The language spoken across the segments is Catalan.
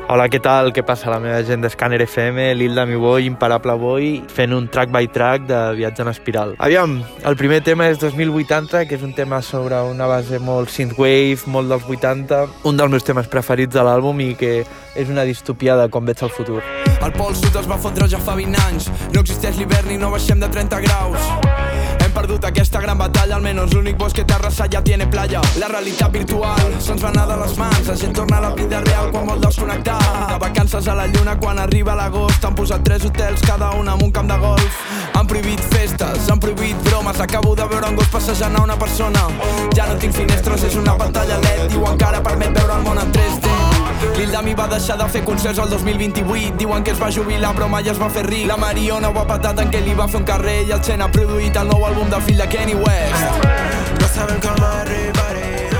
Hola, què tal? Què passa? La meva gent d'Scanner FM, l'Hilda Mi Boy, Imparable Boy, fent un track by track de Viatge en espiral. Aviam, el primer tema és 2080, que és un tema sobre una base molt synthwave, molt dels 80, un dels meus temes preferits de l'àlbum i que és una distopia de com veig el futur. El pol sud es va fotre ja fa 20 anys, no existeix l'hivern i no baixem de 30 graus. Hem perdut aquesta gran batalla, almenys l'únic bosc que té arrasat ja tiene playa. La realitat virtual se'ns va anar de les mans, la gent torna a la vida real quan vol desconnectar. De vacances a la lluna quan arriba l'agost, han posat 3 hotels, cada un amb un camp de golf. Han prohibit festes, han prohibit bromes, acabo de veure un gos passejant a una persona. Ja no tinc finestres, és una pantalla LED, diuen que ara permet veure el món en 3D. L'Hilda Mi va deixar de fer concerts el 2028, diuen que es va jubilar però mai es va fer ric. La Mariona ho ha patat en què li va fer un carrer i el Chen ha produït el nou àlbum del fill de Kanye West. No sabem com arribaré.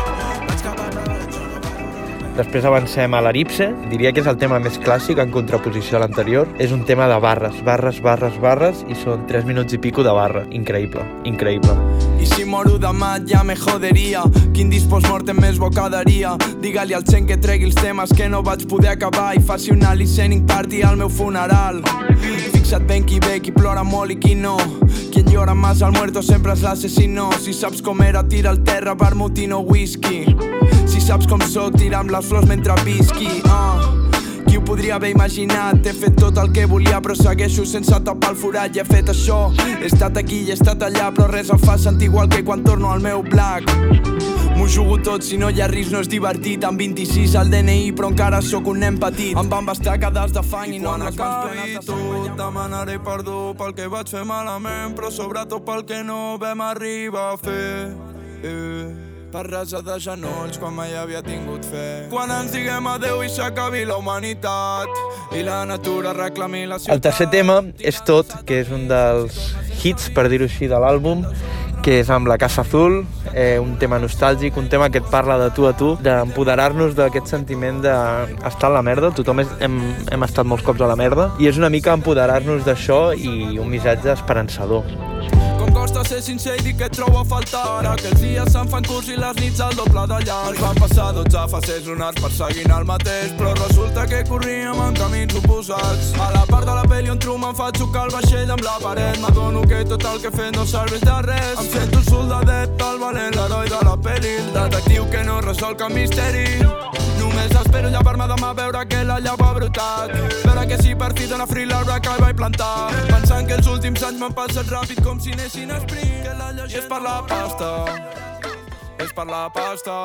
Després avancem a l'Elipse, diria que és el tema més clàssic en contraposició a l'anterior. És un tema de barres, barres, barres, barres i són 3 minuts i pico de barra. Increïble, increïble. I si moro demà ja me joderia, quin dispost mortem més bo quedaria. Digue-li al Chen que tregui els temes que no vaig poder acabar i faci una listening party al meu funeral. Fixa't ben qui ve, qui plora molt i qui no. Quien llora más al muerto sempre és l'assassino. Si saps com era, tira al terra vermut i no whisky. Si saps com soc, tira amb les flors mentre visqui. Qui ho podria haver imaginat? He fet tot el que volia però segueixo sense tapar el forat. I he fet això, he estat aquí i he estat allà, però res em fa sentir igual que quan torno al meu black. M'ho jugo tot, si no hi ha risc no és divertit. Amb 26 al DNI però encara sóc un nen petit. Em van bastar cadals de fang i no amb les mans plenes de sang. Demanaré perdó pel que vaig fer malament, però sobretot pel que no vam arribar a fer. Per resar de genolls quan mai havia tingut fe. Quan ens diguem adeu i s'acabi la humanitat i la natura reclami la ciutat. El tercer tema és Tot, que és un dels hits, per dir-ho així, de l'àlbum, que és amb la Casa Azul, un tema nostàlgic, un tema que et parla de tu a tu, d'empoderar-nos d'aquest sentiment d'estar a la merda. Tothom hem estat molts cops a la merda i és una mica empoderar-nos d'això i un missatge esperançador. Costa ser sincer i dir que et trobo a faltar. Ara que els dies se'n fan curts i les nits al doble de llarg. Ens van passar 12 fases lunars perseguint el mateix, però resulta que corríem en camins oposats. A la part de la pel·li on Truman fa xocar el vaixell amb la paret, m'adono que tot el que he fet no serveix de res. Em sento el soldadet, el valent, l'heroi de la pel·li, el detectiu que no resol cap misteri. Només espero llevar-me demà a veure que la llau ha brotat, veure que si per fi dona fri l'arbre que vaig plantar, pensant que els últims anys m'han passat ràpid com si anessin a sprint, que la llegenda és per la pasta, és per la pasta,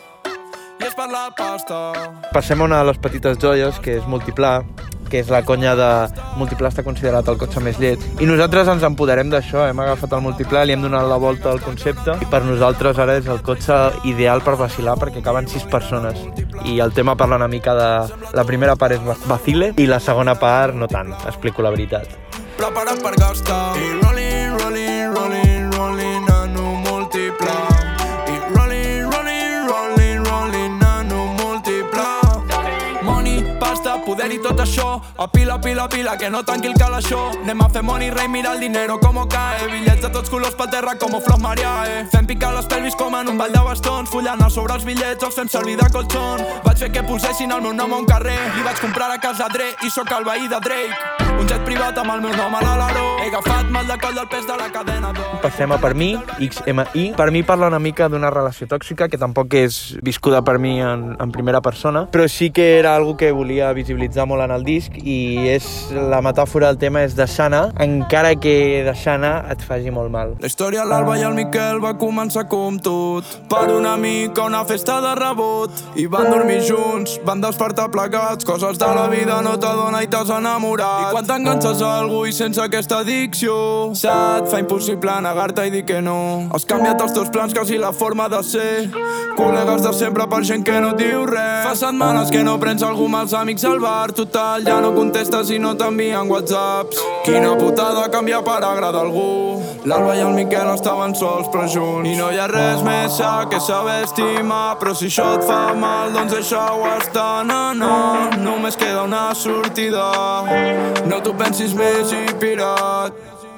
i és per la pasta. Passem a una de les petites joies, que és Multiplà, que és la conya de Multiplà està considerat el cotxe més lleig. I nosaltres ens empoderem d'això, hem agafat el Multiplà, li hem donat la volta al concepte i per nosaltres ara és el cotxe ideal per vacilar perquè caben 6 persones. I el tema parla una mica de... La primera part és vacile i la segona part no tant, explico la veritat. Preparat per gastar i rolling, rolling, rolling, rolling en un Multiplà. I rolling, rolling, rolling, rolling en un Multiplà. Money, pasta, poder i tot això, a pila, pila, pila, que no tanqui el calaixó. Anem a fer money, rei, mira el dinero como cae. Bitllets de tots colors pel terra com flors mariae. Fem picar les pelvis com en un ball de bastons, fullant sobre els bitllets els fem servir de colxon. Vaig fer que posessin el meu nom a un carrer, li vaig comprar a casa Dre i sóc el veí de Drake. Un jet privat amb el meu nom a l'aleró, he agafat mal de coll del pes de la cadena d'or. Passem a Per mi, XMI. Per mi parla una mica d'una relació tòxica, que tampoc és viscuda per mi en primera persona, però sí que era algo que volia visibilitzar molt en el disc i és la metàfora del tema és deixar anar, encara que deixar anar et faci molt mal. La història l'Alba i el Miquel va començar com tot, per una mica una festa de rebot, i van dormir junts, van despertar plegats, coses de la vida no t'adona i t'has enamorat. I quan t'enganxes a algú i sense aquesta addicció se't fa impossible negar-te i dir que no. Has canviat els teus plans, quasi la forma de ser, col·legues de sempre per gent que no diu res. Fa setmanes que no prens algú amb els amics al bar, total, ja no contestes i no t'envien whatsapps. Quina putada canviar per agradar algú. L'Alba i el Miquel estaven sols però junts, i no hi ha res més sa que saber estimar, però si això et fa mal doncs deixa-ho estar. No, no, només queda una sortida, no t'ho pensis més i pirat.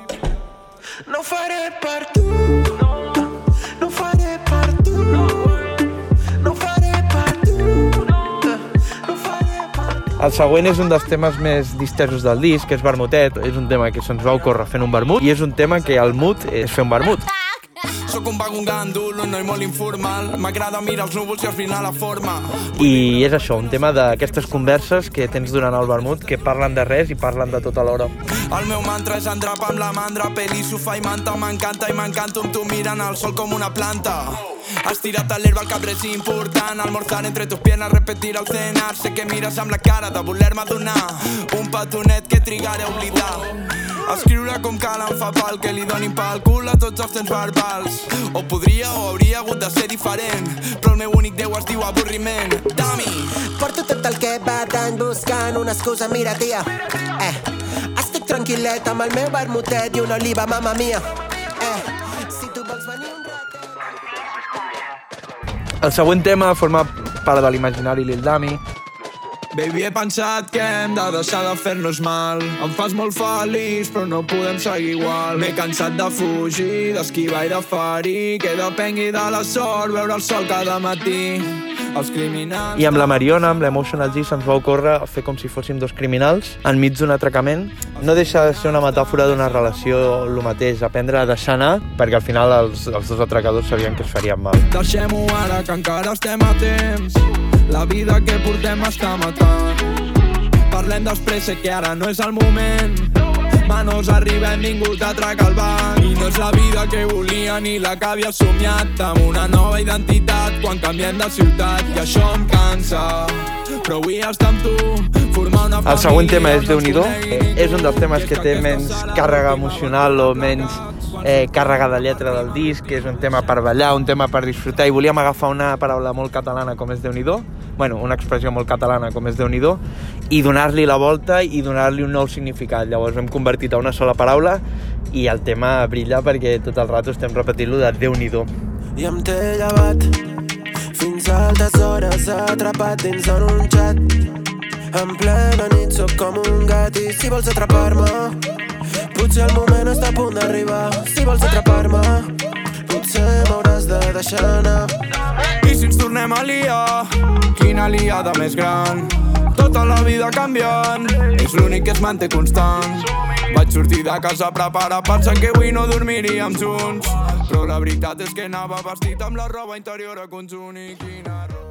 No ho faré per tu, no ho faré per tu, no ho faré per tu, no ho faré per tu. El següent és un dels temes més distesos del disc, que és Vermutet. És un tema que se'ns va ocórrer fent un vermut i és un tema que el mood és fer un vermut. Soc un vago, un gàndol, un noi molt informal. M'agrada mirar els núvols i esbrinar la forma. I és això, un tema d'aquestes converses que tens durant el vermut que parlen de res i parlen de tot alhora. El meu mantra és endrapar amb la mandra, peli, sofà i manta. M'encanta i m'encanto amb tu mirant al sol com una planta. Estirat a l'herba, el cap és important. Almorzar entre tus piernas, repetir al cenar. Sé que mires amb la cara de voler-me donar un petonet que trigaré a oblidar. Escriure com cal em fa pal, que li donin pel cul a tots els temps verbals. O podria o hauria hagut de ser diferent, però el meu únic Déu es diu avorriment. Dami! Porto tot el que va d'any buscant una excusa, mira tia. Estic tranquil·let amb el meu vermutet i una oliva, mama mia. Si tu vols venir un ratet... El següent tema forma part de l'imaginari Lil Dami. Baby, he pensat que hem de deixar de fer-nos mal. Em fas molt feliç, però no podem seguir igual. M'he cansat de fugir, d'esquivar i de ferir, que depengui de la sort veure el sol cada matí. Els criminals... I amb la Mariona, amb l'Emotional G, se'ns va ocórrer fer com si fóssim dos criminals enmig d'un atracament. No deixa de ser una metàfora d'una relació el mateix, aprendre a deixar anar, perquè al final els dos atracadors sabien que es farien mal. Deixem-ho ara, que encara estem a temps. La vida que portem està matant. Parlem després, sé que ara no és el moment. Manos arriba, hem vingut a atracar el banc. I no és la vida que volia ni la que havia somiat. Amb una nova identitat quan canviem de ciutat. I això em cansa, però vull estar amb tu, formar una família. El següent tema és Déu-n'hi-do. És un dels temes que té menys càrrega emocional o menys càrrega de lletra del disc, que és un tema per ballar, un tema per disfrutar, i volíem agafar una paraula molt catalana com és Déu-n'hi-do, bueno, una expressió molt catalana com és Déu-n'hi-do, i donar-li la volta i donar-li un nou significat. Llavors hem convertit a una sola paraula i el tema brilla perquè tot el rato estem repetint-lo de Déu-n'hi-do. I em té llevat fins a altes hores atrapat dins en un xat. En plena nit sóc com un gat i si vols atrapar-me potser el moment està a punt d'arribar. Si vols atrapar-me potser m'hauràs de deixar anar. I si ens tornem a liar, quina liada més gran. Tota la vida canviant, és l'únic que es manté constant. Vaig sortir de casa preparat pensant que avui no dormiríem junts, però la veritat és que anava vestit amb la roba interior a conjunt. I quina roba.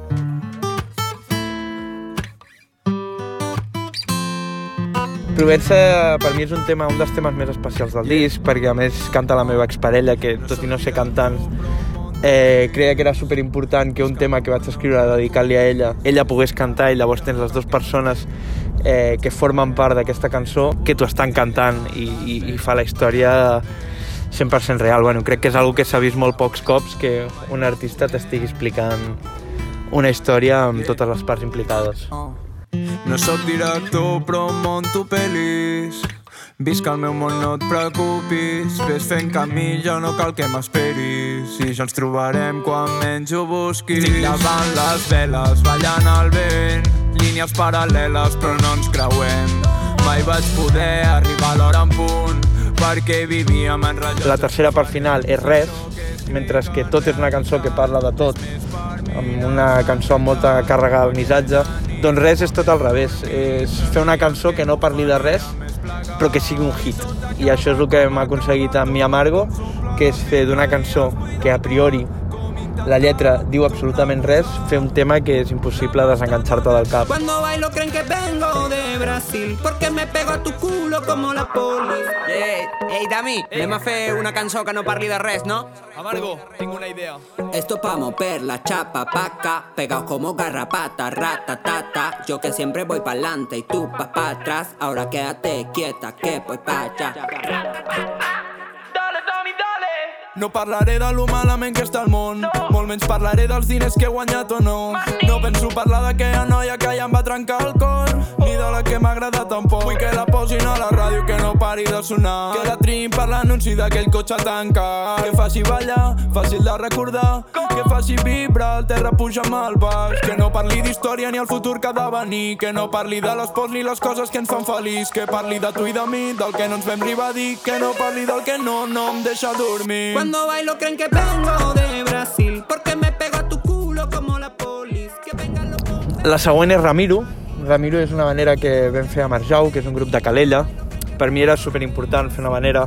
Provença per mi és un dels temes més especials del disc, perquè a més canta la meva exparella, que tot i no ser cantant creia que era superimportant que un tema que vaig escriure dedicat-li a ella pogués cantar, i llavors tens les dues persones que formen part d'aquesta cançó que t'ho estan cantant i fa la història 100% real. Bueno, crec que és una que s'ha vist molt pocs cops, que un artista t'estigui explicant una història amb totes les parts implicades. No sóc director, però monto pel·lis. Visc el meu món, no et preocupis. Ves fent camí, ja no cal que m'esperis. I ja ens trobarem quan menys ho busquis. Estic davant les veles, ballant al vent. Línies paral·leles, però no ens creuem. Mai vaig poder arribar a l'hora en punt, perquè vivíem en rellotge. La tercera part final és Res, mentre que Tot és una cançó que parla de tot, amb una cançó amb molta càrrega de missatge. Doncs Res és tot al revés, és fer una cançó que no parli de res, però que sigui un hit. I això és el que hem aconseguit amb Mi Amargo, que és fer d'una cançó que a priori la lletra diu absolutament res, fer un tema que és impossible desenganxar-te del cap. Cuando bailo creen que vengo de Brasil, porque me pego a tu culo como la poli. Ei, Dami, anem a fer una cançó que no parli de res, no? Amargo, tengo una idea. Esto pa' mover la chapa paca, pegados como garrapata, ratatata. Yo que siempre voy pa'lante y tú pa' atrás, ahora quédate quieta que voy pa' allá. No parlaré de lo malament que està el món, molt menys parlaré dels diners que he guanyat o no. No penso parlar d'aquella noia que ja em va trencar el cor, ni de la que m'agrada tampoc. Vull que la posin a la ràdio, que no pari de sonar, que la triïn per l'anunci d'aquell cotxe tancat, que faci ballar, fàcil de recordar, que faci vibrar, el terra puja amb el baix, que no parli d'història ni el futur que ha de venir, que no parli de les pors ni les coses que ens fan feliç, que parli de tu i de mi, del que no ens vam arribar a dir, que no parli del que no em deixa dormir. Cuando bailo creen que vengo de Brasil, porque me pego a tu culo como la polis. Que vengan los... La següent és Ramiro, Ramiro és una vanera que vam fer a Marjau, que és un grup de Calella. Per mi era superimportant fer una vanera.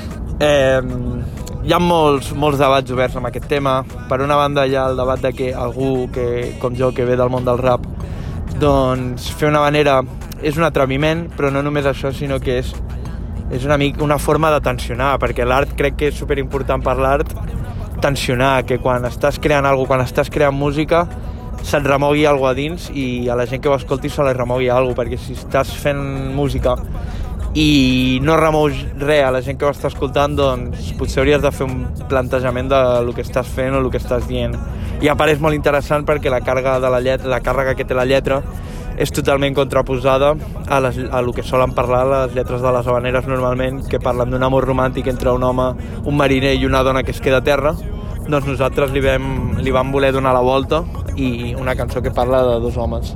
Hi ha molts debats oberts amb aquest tema. Per una banda hi ha el debat de que algú com jo, que ve del món del rap, doncs fer una vanera és un atreviment, però no només això, sinó que és una forma de tensionar, perquè l'art crec que és superimportant per l'art tensionar, que quan estàs creant alguna cosa, quan estàs creant música, se't remogui alguna cosa a dins i a la gent que ho escolti se li remogui alguna cosa, perquè si estàs fent música i no remous res a la gent que ho està escoltant, doncs potser hauries de fer un plantejament de lo que estàs fent o el que estàs dient. I a part és molt interessant perquè la càrrega que té la lletra és totalment contraposada a lo que solen parlar les lletres de les habaneres normalment, que parlen d'un amor romàntic entre un home, un mariner i una dona que es queda a terra. Doncs nosaltres li vam voler donar la volta i una cançó que parla de dos homes.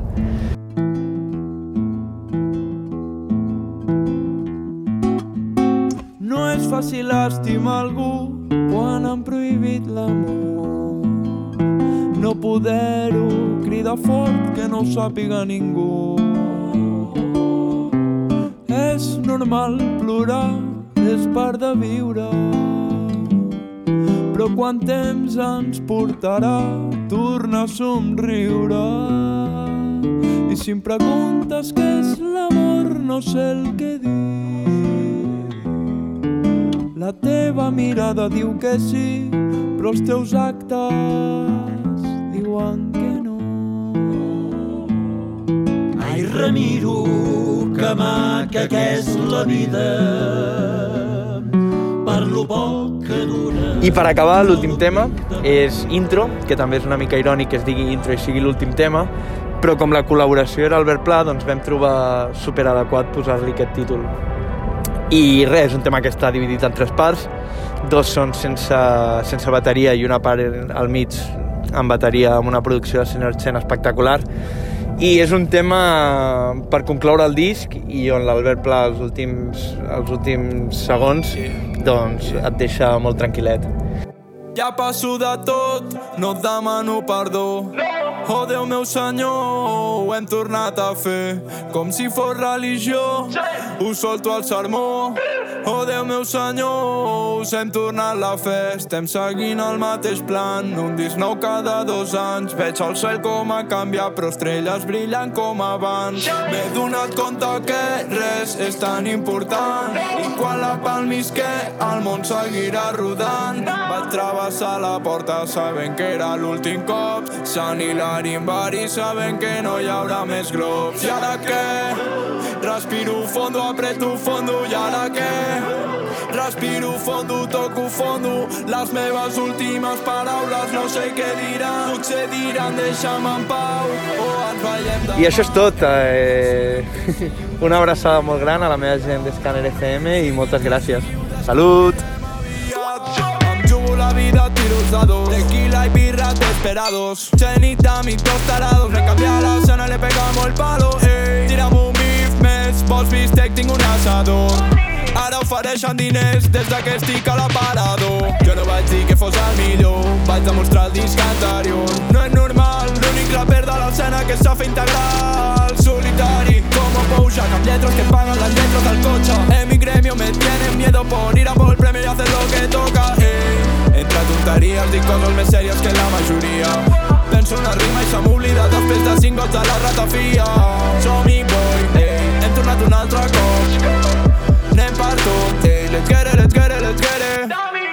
No és fàcil estimar algú quan han prohibit l'amor. No poder-ho cridar fort que no ho sàpiga ningú. És normal plorar, és part de viure. Però quant temps ens portarà tornar a somriure? I si em preguntes què és l'amor, no sé el que dir. La teva mirada diu que sí, però els teus actes diuen que no. Ai, Ramiro, que maca que és la vida, per lo poc que dura. I per acabar, l'últim tema és Intro, que també és una mica irònic que es digui Intro i sigui l'últim tema, però com la col·laboració era Albert Pla, doncs vam trobar superadequat posar-li aquest títol. I res, és un tema que està dividit en 3 parts, 2 són sense bateria i una part al mig amb bateria, amb una producció de Synergen espectacular. I és un tema per concloure el disc i on l'Albert Pla els últims segons doncs et deixa molt tranquil·let. Ja passo de tot, no et demano perdó. Oh, Déu meu senyor, ho hem tornat a fer com si fos religió. Ho solto al sermó. Oh, Déu meu senyor, us hem tornat la fe. Estem seguint el mateix plan, un disc nou cada 2 anys. Veig el cel com ha canviat, però estrelles brillant com abans. M'he donat compte que res és tan important, i quan la palmisqué el món seguirà rodant. Vaig travessar la porta sabent que era l'últim cop, Sant Hilari en Bari sabent que no hi haurà més globs. I ara què? Respiro fondo, apreto fondo. I ara què? Respiro fondo, toco fondo. Les meves últimes paraules no sé què diran. Potser diran deixa'm en pau o ens veiem demà. I això és tot. Una abraçada molt gran a la meva gent d'Scanner FM i moltes gràcies. Salut! Em jugo la vida a tiros de 2, tequila y birra desesperados. Chenita, mis 2 tarados. Me canvia la escena, le pegamos el palo. Tira'm un bif més, vols bistec, tinc un asador. Ara ofereixen diners des que estic a l'aparador. Jo no vaig dir que fos el millor, vaig demostrar el disc anterior. No és normal, l'únic raper de l'escena que sap fer integral. Solitari, como Pouja, amb lletres que pagan las letras del coche. En mi gremio me tienen miedo por ir a por el premio y hacer lo que toca. Entre tonteries dic coses més sèries que la majoria. Penso una rima i se m'oblida després de 5 gots de la ratafia. Som-hi, boy, hem tornat un altre cop. Anem per tot, let's get it, let's get it, let's get it.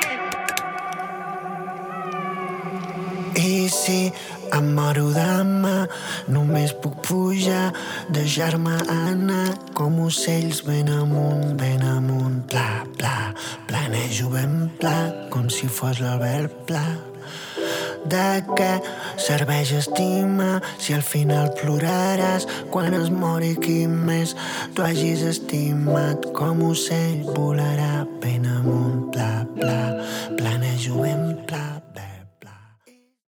I si em moro demà, només puc pujar, deixar-me anar com ocells ben amunt, pla, pla, planejo ben pla, com si fos l'Albert Pla. De què serveix estimar si al final ploraràs quan es mori qui més tu hagis estimat? Com ocell volarà ben amunt, pla, pla, planejo ben pla, pla.